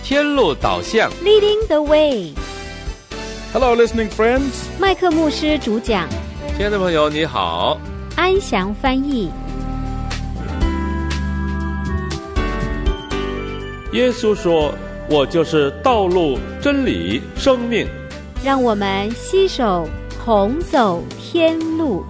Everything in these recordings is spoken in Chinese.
天路导向 Leading the way. Hello, listening friends. 麦克牧师主讲， 亲爱的朋友你好， 安祥翻译。 耶稣说：“我就是道路、真理、生命。” 让我们携手同走天路。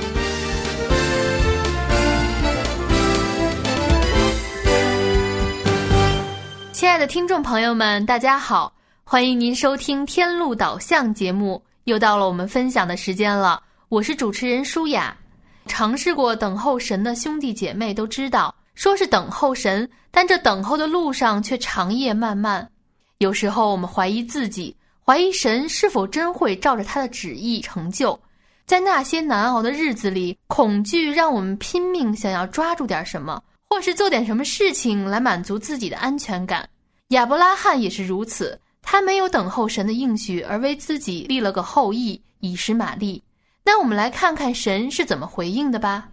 亲爱的听众朋友们，大家好，欢迎您收听天路导向节目，又到了我们分享的时间了。我是主持人舒雅。尝试过等候神的兄弟姐妹都知道，说是等候神，但这等候的路上却长夜漫漫。有时候我们怀疑自己，怀疑神是否真会照着他的旨意成就。在那些难熬的日子里，恐惧让我们拼命想要抓住点什么，或是做点什么事情来满足自己的安全感。亚伯拉罕也是如此，他没有等候神的应许，而为自己立了个后裔，以实玛利。那我们来看看神是怎么回应的吧。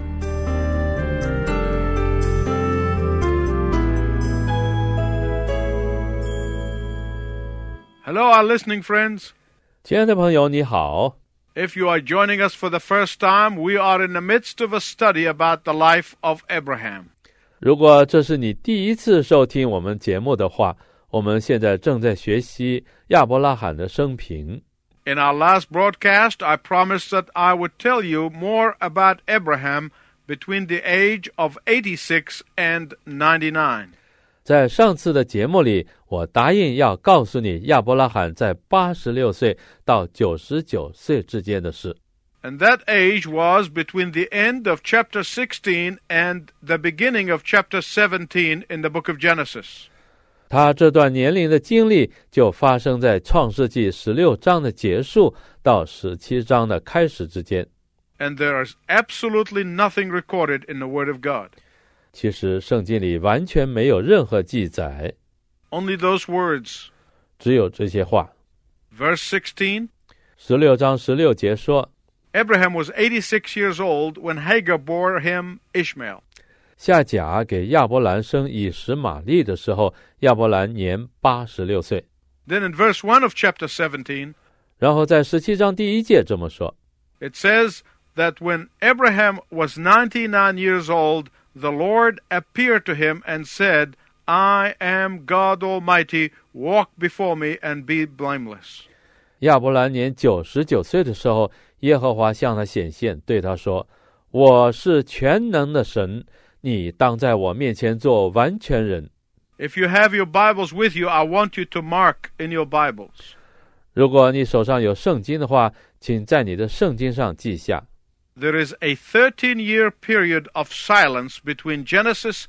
Hello, our listening friends. 亲爱的朋友你好。 If you are joining us for the first time, we are in the midst of a study about the life of Abraham. 如果这是你第一次收听我们节目的话，我们现在正在学习亚伯拉罕的生平。 In our last broadcast, I promised that I would tell you more about Abraham between the age of 86 and 99. 在上次的节目里，我答应要告诉你亚伯拉罕在86岁到99岁之间的事。 And that age was between the end of chapter 16 and the beginning of chapter 17 in the book of Genesis. 他这段年龄的经历就发生在创世纪16章的结束到17章的开始之间。 And there is absolutely nothing recorded in the Word of God. 其实圣经里完全没有任何记载， Only those words. 只有这些话。 Verse 16, 16章16节说， Abraham was 86 years old when Hagar bore him Ishmael. 夏甲给亚伯兰生以实玛利的时候，亚伯兰年86岁。 Then in verse 1 of chapter 17, 然后在17章第1节这么说， it says that when Abraham was 99 years old, the Lord appeared to him and said, I am God Almighty, walk before me and be blameless. 亚伯兰年99岁的时候，耶和华向他显现，对他说，我是全能的神，你当在我面前做完全人。 If you have your Bibles with you, I want you to mark in your Bibles. 如果你手上有圣经的话，请在你的圣经上记下。 There is a 13-year period of silence between Genesis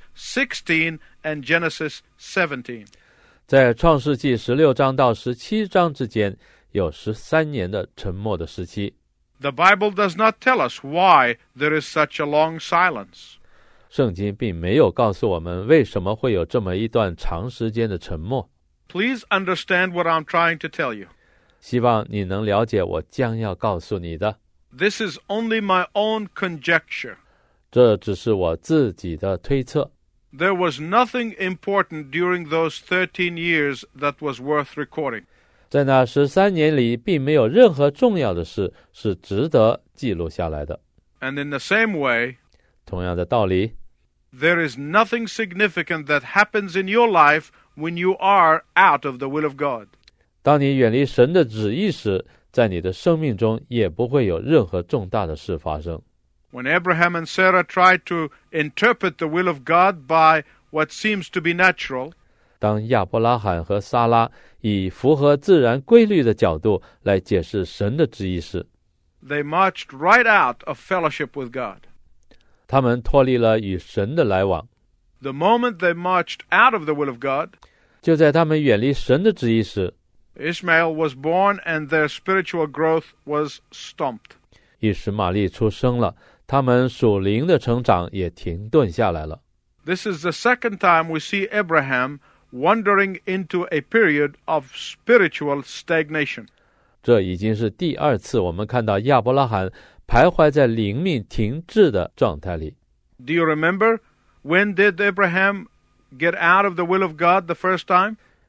16 and Genesis 17. 在创世纪16章到17章之间，有13年的沉默的时期。 The Bible does not tell us why there is such a long silence. 圣经并没有告诉我们为什么会有这么一段长时间的沉默。 Please understand what I'm trying to tell you. 希望你能了解我将要告诉你的。 This is only my own conjecture. 这只是我自己的推测。 There was nothing important during those 13 years that was worth recording. 在那13年里，并没有任何重要的事是值得记录下来的。 And in the same way, 同样的道理， there is nothing significant that happens in your life when you are out of the will of God. 当你远离神的旨意时，在你的生命中也不会有任何重大的事发生。 When Abraham and Sarah tried to interpret the will of God by what seems to be natural, 当亚伯拉罕和撒拉以符合自然规律的角度来解释神的旨意时， they marched right out of fellowship with God. 他们脱离了与神的来往。 The moment they marched out of the will of God, 就在他们远离神的旨意时， Ishmael was born and their spiritual growth was stopped. 以实玛利出生了，他们属灵的成长也停顿下来了。 This is the second time we see Abraham wandering into a period of spiritual stagnation. 这已经是第2次我们看到亚伯拉罕徘徊在灵命停滞的状态里。 Do you remember when did Abraham get out of the will of God the first time?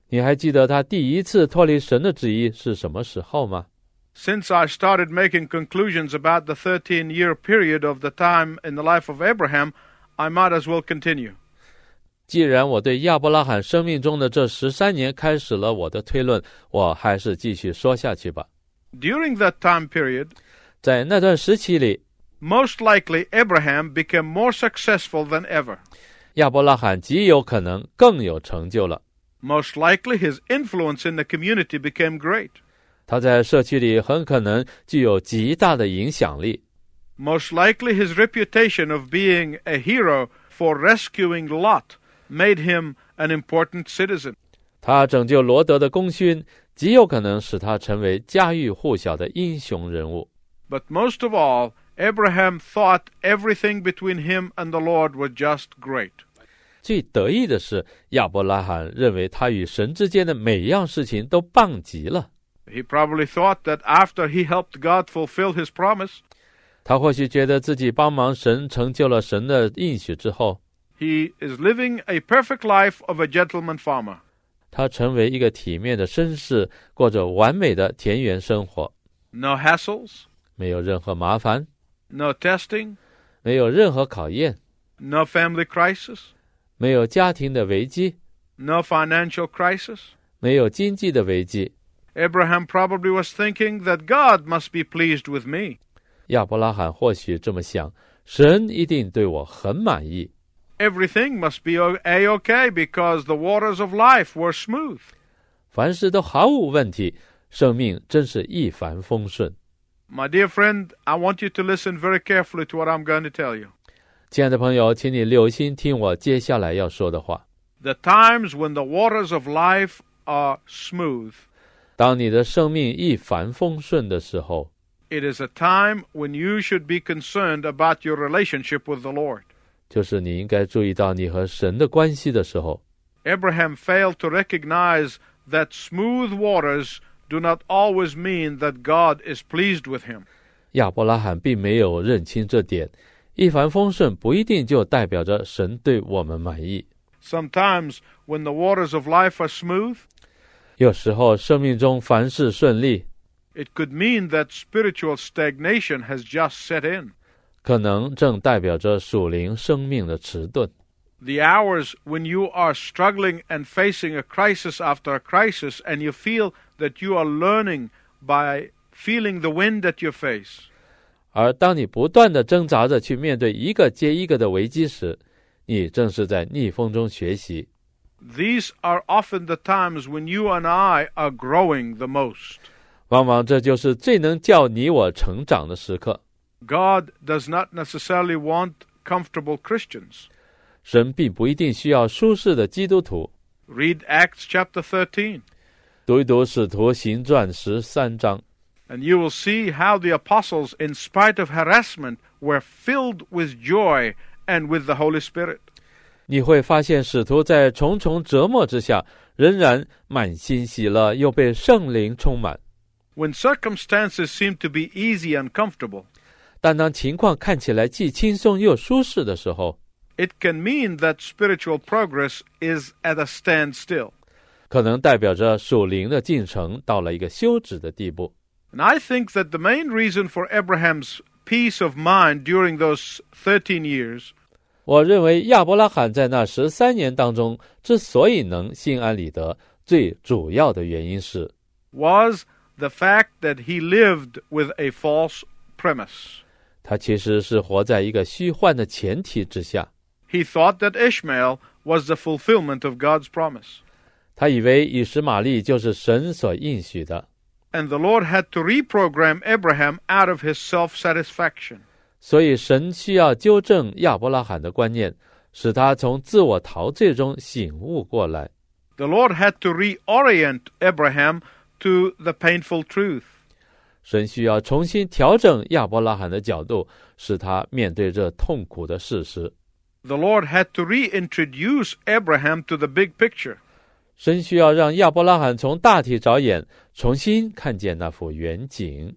你还记得他第一次脱离神的旨意是什么时候吗？ Since I started making conclusions about the 13-year period of the time in the life of Abraham, I might as well continue. 既然我对亚伯拉罕生命中的这13年开始了我的推论，我还是继续说下去吧。 During that time period, 在那段时期里， most likely Abraham became more successful than ever. 亚伯拉罕极有可能更有成就了。 Most likely his influence in the community became great. 他在社区里很可能具有极大的影响力。 Most likely his reputation of being a hero for rescuing Lot made him an important citizen. 他拯救罗德的功勋极有可能使他成为家喻户晓的英雄人物。 But most of all, Abraham thought everything between him and the Lord was just great. 最得意的是，亚伯拉罕认为他与神之间的每样事情都棒极了。 He probably thought that after he helped God fulfill his promise, 他或许觉得自己帮忙神成就了神的应许之后， he is living a perfect life of a gentleman farmer. 他成为一个体面的绅士，过着完美的田园生活， No hassles, 没有任何麻烦， no testing, 没有任何考验， no family crisis, 没有家庭的危机， no financial crisis. 没有经济的危机。 Abraham probably was thinking that God must be pleased with me. 亚伯拉罕或许这么想，神一定对我很满意。 Everything must be A-OK because the waters of life were smooth. 凡事都毫无问题，生命真是一帆风顺。 My dear friend, I want you to listen very carefully to what I'm going to tell you. 亲爱的朋友，请你留心听我接下来要说的话。 The times when the waters of life are smooth, 当你的生命一帆风顺的时候， it is a time when you should be concerned about your relationship with the Lord. 就是你应该注意到你和神的关系的时候。 Abraham failed to recognize that smooth waters do not always mean that God is pleased with him. 亚伯拉罕并没有认清这点，一帆风顺不一定就代表着神对我们满意。 Sometimes when the waters of life are smooth, 有时候生命中凡事顺利， it could mean that spiritual stagnation has just set in. 可能正代表着属灵生命的迟钝。 The hours when you are struggling and facing a crisis after a crisis and you feel that you are learning by feeling the wind at your face. 而当你不断地挣扎着去面对一个接一个的危机时，你正是在逆风中学习。 These are often the times when you and I are growing the most. 往往这就是最能叫你我成长的时刻。 God does not necessarily want comfortable Christians. 神并不一定需要舒适的基督徒。 Read Acts chapter 13, 读一读《使徒行传》13章， and you will see how the apostles, in spite of harassment, were filled with joy and with the Holy Spirit. 你会发现使徒在重重折磨之下，仍然满心喜乐，又被圣灵充满。 When circumstances seem to be easy and comfortable, 但当情况看起来既轻松又舒适的时候， it can mean that spiritual progress is at a standstill. 可能代表着属灵的进程到了一个休止的地步。 And I think that the main reason for Abraham's peace of mind during those 13 years 我认为亚伯拉罕在那13年当中之所以能心安理得，最主要的原因是 was the fact that he lived with a false premise. 他其实是活在一个虚幻的前提之下。 He thought that Ishmael was the fulfillment of God's promise. 他以为以实玛利就是神所应许的， And the Lord had to reprogram Abraham out of his self-satisfaction. 所以神需要纠正亚伯拉罕的观念，使他从自我陶醉中醒悟过来。 The Lord had to reorient Abraham to the painful truth. 神需要重新调整亚伯拉罕的角度，使他面对这痛苦的事实。 The Lord had to reintroduce Abraham to the big picture. 神需要让亚伯拉罕从大体着眼，重新看见那幅远景。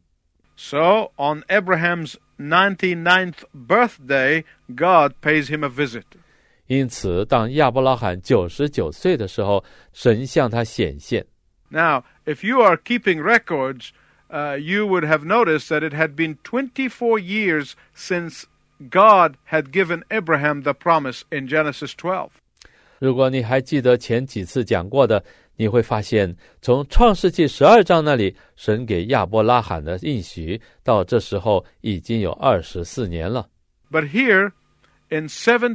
So, on Abraham's 99th birthday, God pays him a visit. 因此当亚伯拉罕99岁的时候，神向他显现。 Now, if you are keeping records, you would have noticed that it had been 24 years since God had given Abraham the promise in Genesis 12. 如果你还记得前几次讲过的，你会发现从创世纪12章那里，神给亚伯拉罕的应许，到这时候已经有24年了。 But here, in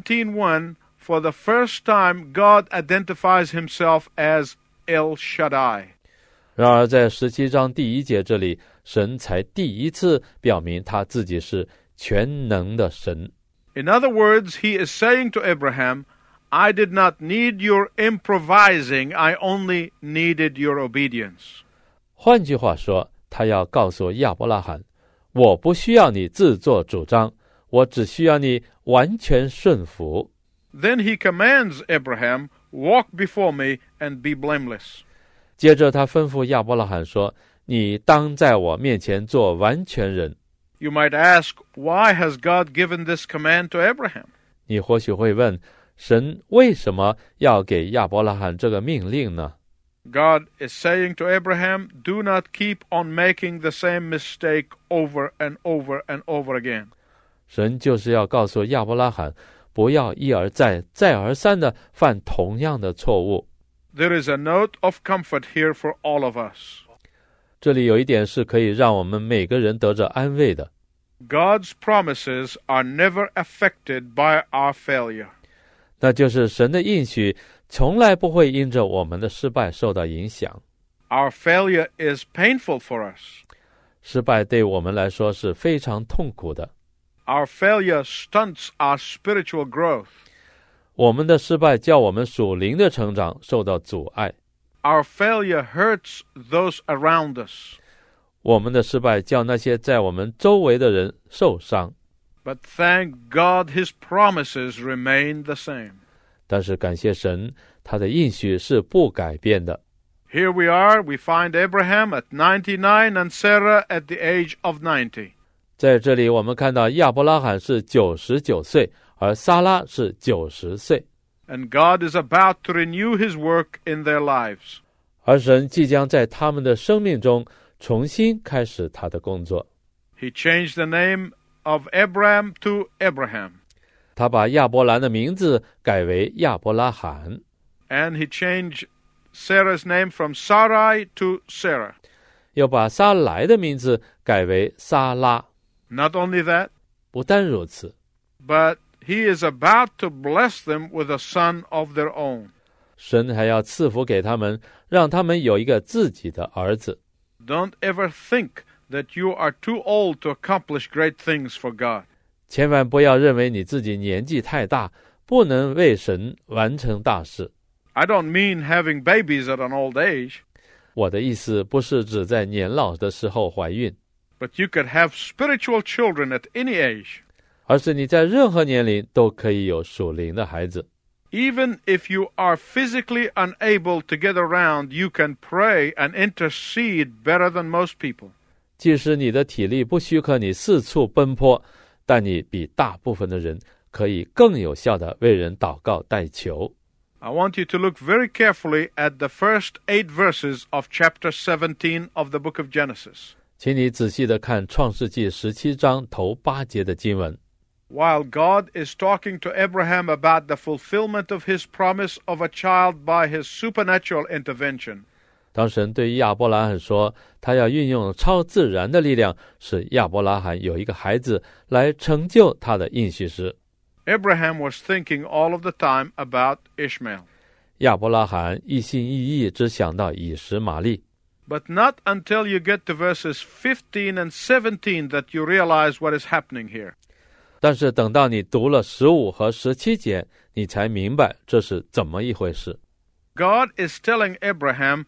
17:1, for the first time, God identifies himself as El Shaddai. 然而在17章第1节这里，神才第一次表明他自己是全能的神。 In other words, he is saying to Abraham, I did not need your improvising, I only needed your obedience. 换句话说，他要告诉亚伯拉罕，我不需要你自作主张，我只需要你完全顺服。 Then he commands Abraham, walk before me and be blameless. 接着他吩咐亚伯拉罕说，你当在我面前做完全人。 You might ask, why has God given this command to Abraham? 你或许会问，神为什么要给亚伯拉罕这个命令呢？ God is saying to Abraham, do not keep on making the same mistake over and over and over again. 神就是要告诉亚伯拉罕，不要一而再、再而三地犯同样的错误。 There is a note of comfort here for all of us. 这里有一点是可以让我们每个人得着安慰的。 God's promises are never affected by our failure. 那就是神的应许从来不会因着我们的失败受到影响。 Our failure is painful for us. 失败对我们来说是非常痛苦的。 Our failure stunts our spiritual growth. 我们的失败叫我们属灵的成长受到阻碍。 Our failure hurts those around us. 我们的失败叫那些在我们周围的人受伤。 But thank God his promises remain the same. 但是感谢神，他的应许是不改变的。 Here we are, we find Abraham at 99 and Sarah at the age of 90. 在这里我们看到亚伯拉罕是99岁，而撒拉是90岁。 And God is about to renew his work in their lives. 而神即将在他们的生命中重新开始他的工作。 He changed the name of Abram to Abraham. 他把亚伯兰的名字改为亚伯拉罕， And he changed Sarah's name from Sarai to Sarah. 又把撒莱的名字改为撒拉。 Not only that, 不单如此， but he is about to bless them with a son of their own. 神还要赐福给他们，让他们有一个自己的儿子。 Don't ever think that you are too old to accomplish great things for God. 千万不要认为你自己年纪太大，不能为神完成大事。 I don't mean having babies at an old age, 我的意思不是指在年老的时候怀孕， but you could have spiritual children at any age. 而是你在任何年龄都可以有属灵的孩子。 Even if you are physically unable to get around, you can pray and intercede better than most people. 即使你的体力不许可你四处奔波，但你比大部分的人可以更有效地为人祷告代求。 I want you to look very carefully at the first 8 verses of chapter 17 of the book of Genesis. 请你仔细地看创世纪17章头8节的经文。 While God is talking to Abraham about the fulfillment of his promise of a child by his supernatural intervention, 当神对亚伯拉罕说，他要运用超自然的力量，使亚伯拉罕有一个孩子来成就他的应许时， Abraham was thinking all of the time about Ishmael. 亚伯拉罕一心一意只想到以实玛利。 But not until you get to verses 15 and 17 that you realize what is happening here. 但是等到你读了15和17节，你才明白这是怎么一回事。 God is telling Abraham,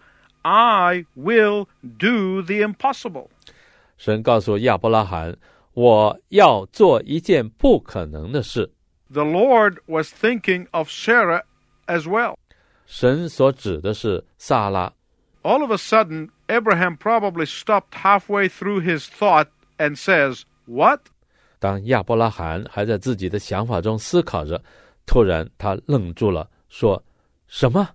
I will do the impossible. 神告诉亚伯拉罕，我要做一件不可能的事。 The Lord was thinking of Sarah as well. 神所指的是撒拉。 All of a sudden, Abraham probably stopped halfway through his thought and says, What? 当亚伯拉罕还在自己的想法中思考着， 突然他愣住了，说：“什么？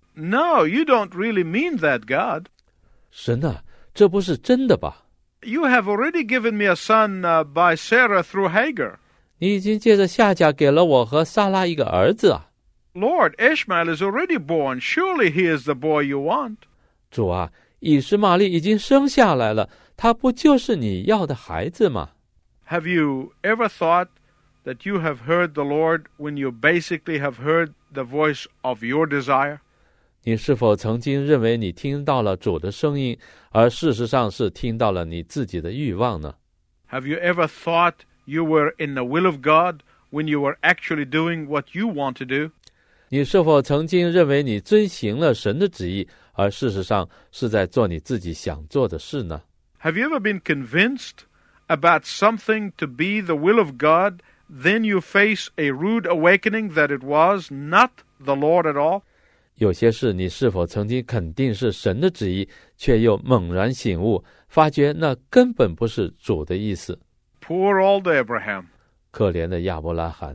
No, you don't really mean that, God. 神啊，这不是真的吧？ You have already given me a son by Sarah through Hagar. 你已经借着夏甲给了我和撒拉一个儿子啊！ Lord, Ishmael is already born. Surely he is the boy you want. 主啊，以实玛利已经生下来了，他不就是你要的孩子吗？ Have you ever thought that you have heard the Lord when you basically have heard the voice of your desire? 你是否曾经认为你听到了主的声音，而事实上是听到了你自己的欲望呢？ Have you ever thought you were in the will of God when you were actually doing what you want to do? 你是否曾经认为你遵行了神的旨意，而事实上是在做你自己想做的事呢？ Have you ever been convinced about something to be the will of God, then you face a rude awakening that it was not the Lord at all? 有些事你是否曾经肯定是神的旨意，却又猛然醒悟，发觉那根本不是主的意思？ Poor old Abraham. 可怜的亚伯拉罕。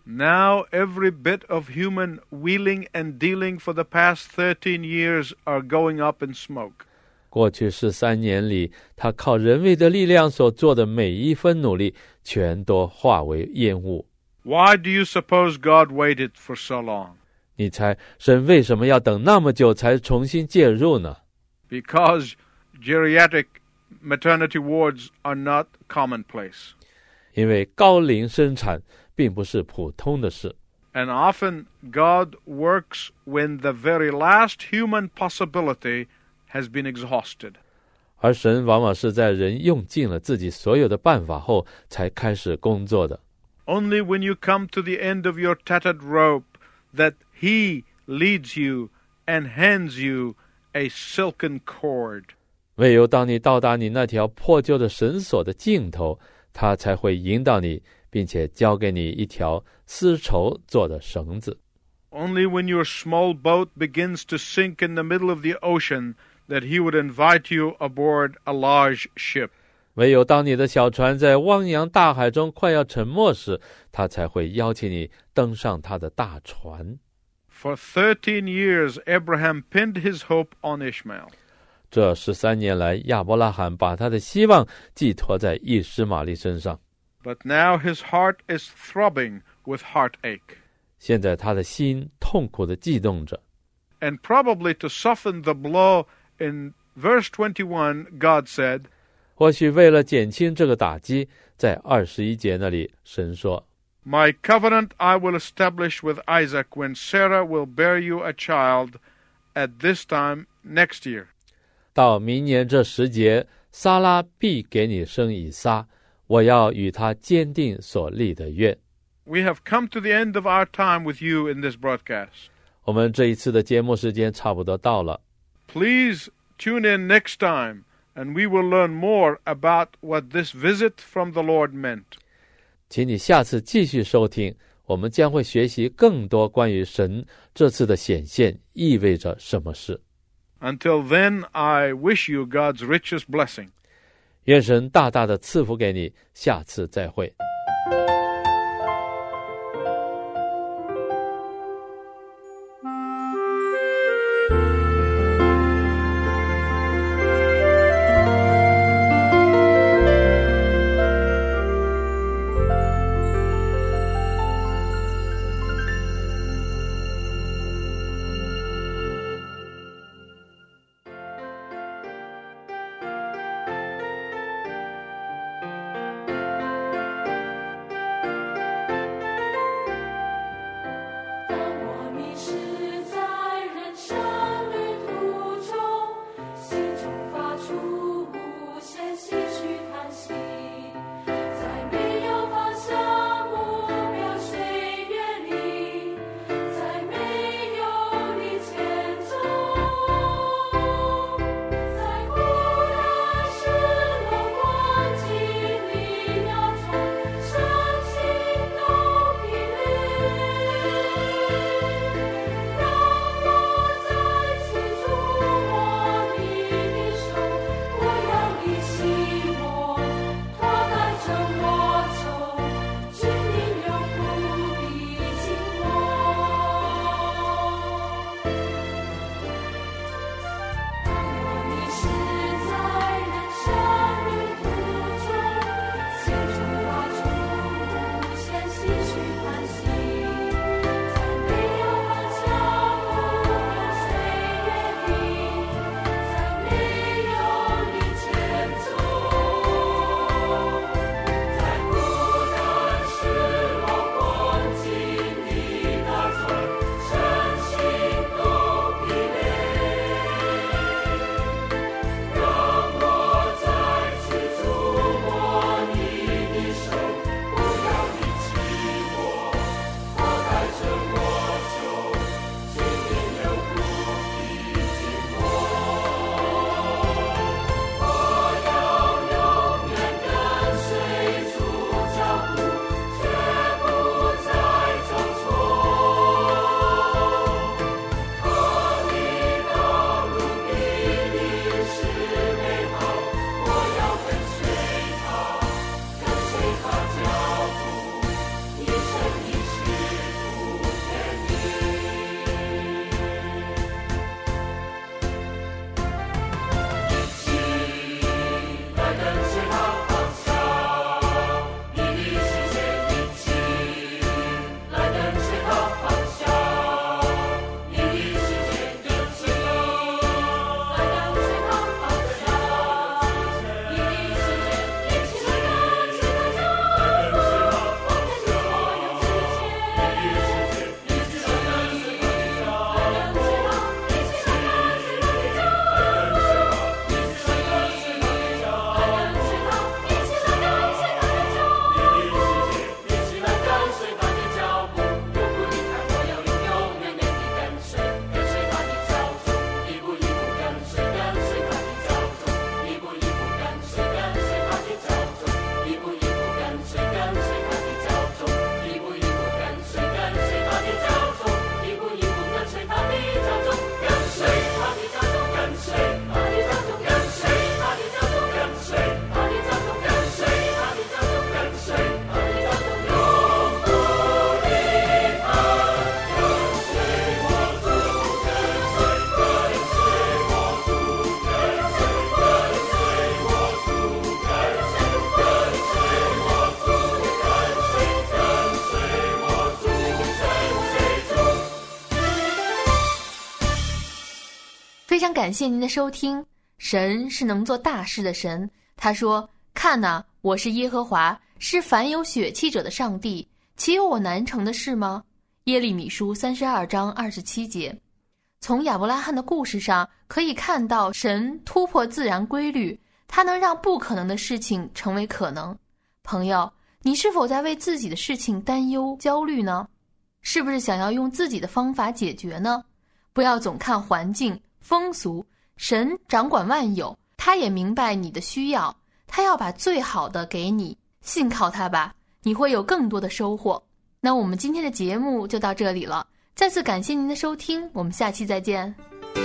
Now every bit of human wheeling and dealing for the past 13 years are going up in smoke. 过去13年里，他靠人为的力量所做的每一分努力，全都化为烟雾。 Why do you suppose God waited for so long? 你猜神为什么要等那么久才重新介入呢？ Because geriatric maternity wards are not commonplace. 因为高龄生产并不是普通的事， And often God works when the very last human possibility has been exhausted. 而神往往是在人用尽了自己所有的办法后才开始工作的。 Only when you come to the end of your tattered rope that He leads you and hands you a silken cord. 唯有当你到达你那条破旧的绳索的尽头，他才会引导你，并且交给你一条丝绸做的绳子。 Only when your small boat begins to sink in the middle of the ocean that He would invite you aboard a large ship. 唯有当你的小船在汪洋大海中快要沉没时，他才会邀请你登上他的大船。 For 13 years, Abraham pinned his hope on Ishmael. 这13年来，亚伯拉罕把他的希望寄托在以实玛利身上。 But now his heart is throbbing with heartache. 现在他的心痛苦地悸动着。 And probably to soften the blow, in verse 21, God said, 或许为了减轻这个打击，在21节那里，神说： My covenant I will establish with Isaac when Sarah will bear you a child at this time next year. 到明年这时节，撒拉必给你生以撒，我要与他坚定所立的约。 We have come to the end of our time with you in this broadcast. 我们这一次的节目时间差不多到了， Please tune in next time, and we will learn more about what this visit from the Lord meant. 请你下次继续收听，我们将会学习更多关于神这次的显现意味着什么事。 Until then, I wish you God's richest blessing. 愿神大大的赐福给你，下次再会。 非常感谢您的收听。神是能做大事的神，他说：看哪，我是耶和华，是凡有血气者的上帝，岂有我难成的事吗？耶利米书32章27节。从亚伯拉罕的故事上可以看到，神突破自然规律，他能让不可能的事情成为可能。朋友，你是否在为自己的事情担忧焦虑呢？是不是想要用自己的方法解决呢？不要总看环境风俗，神掌管万有，他也明白你的需要，他要把最好的给你，信靠他吧，你会有更多的收获。那我们今天的节目就到这里了，再次感谢您的收听，我们下期再见。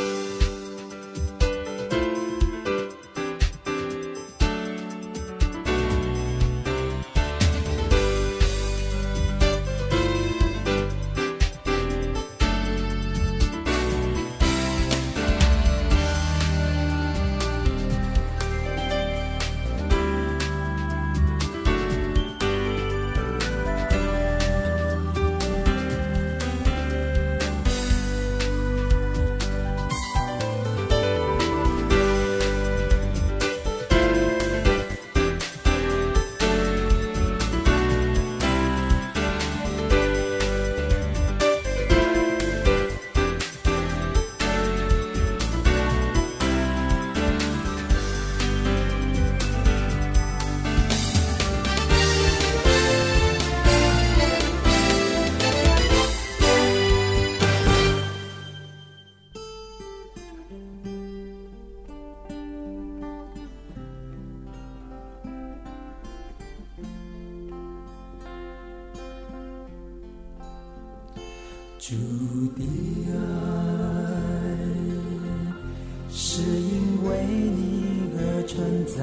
主的爱是因为你而存在，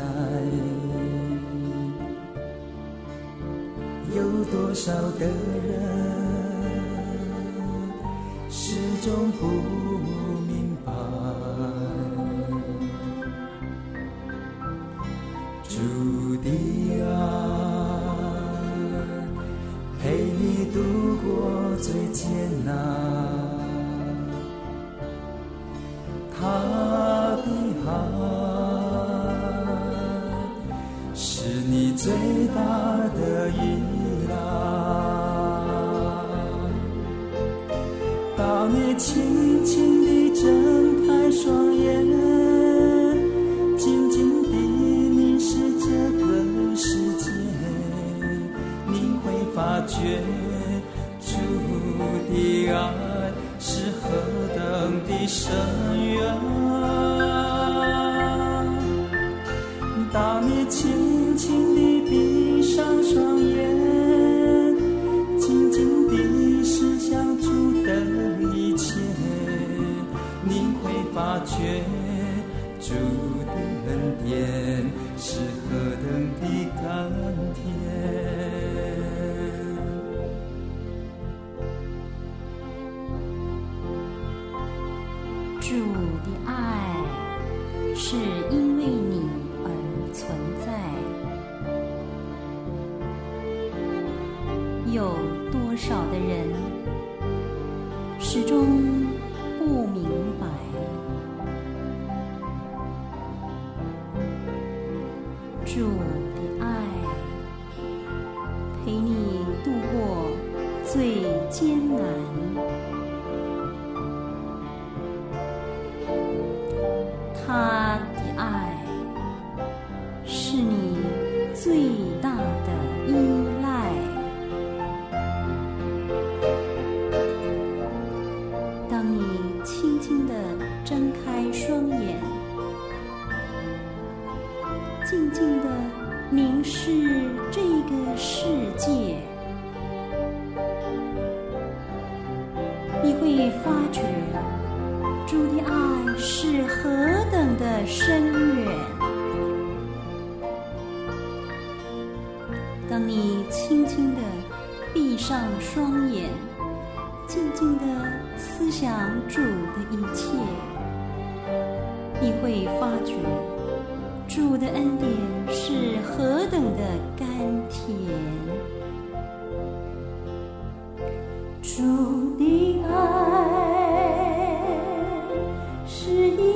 有多少的人始终不明白，主的爱陪你度过最艰难，他的爱是你最大的依赖。当你轻轻地睁开双眼，静静地凝视这个世界，你会发觉主的爱是何等的深远。当你轻轻地闭上双眼，静静地思想主的一切，你会发觉主的恩典是何等的甘甜。 主的爱是因为你而存在，有多少的人始终不明白，主的爱陪你度过最艰难，他的爱是你最大的依赖。当你轻轻地睁开双眼，静静地凝视这个世界，你会发觉主的爱是何等的深远。当你轻轻地闭上双眼，静静地思想主的一切，你会发觉主的恩典是何等的甘甜。主的爱是因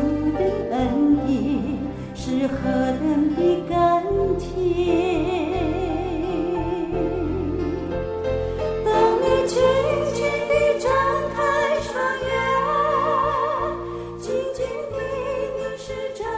的恩典是何等的甘甜。当你轻轻地张开双眼，静静地凝视着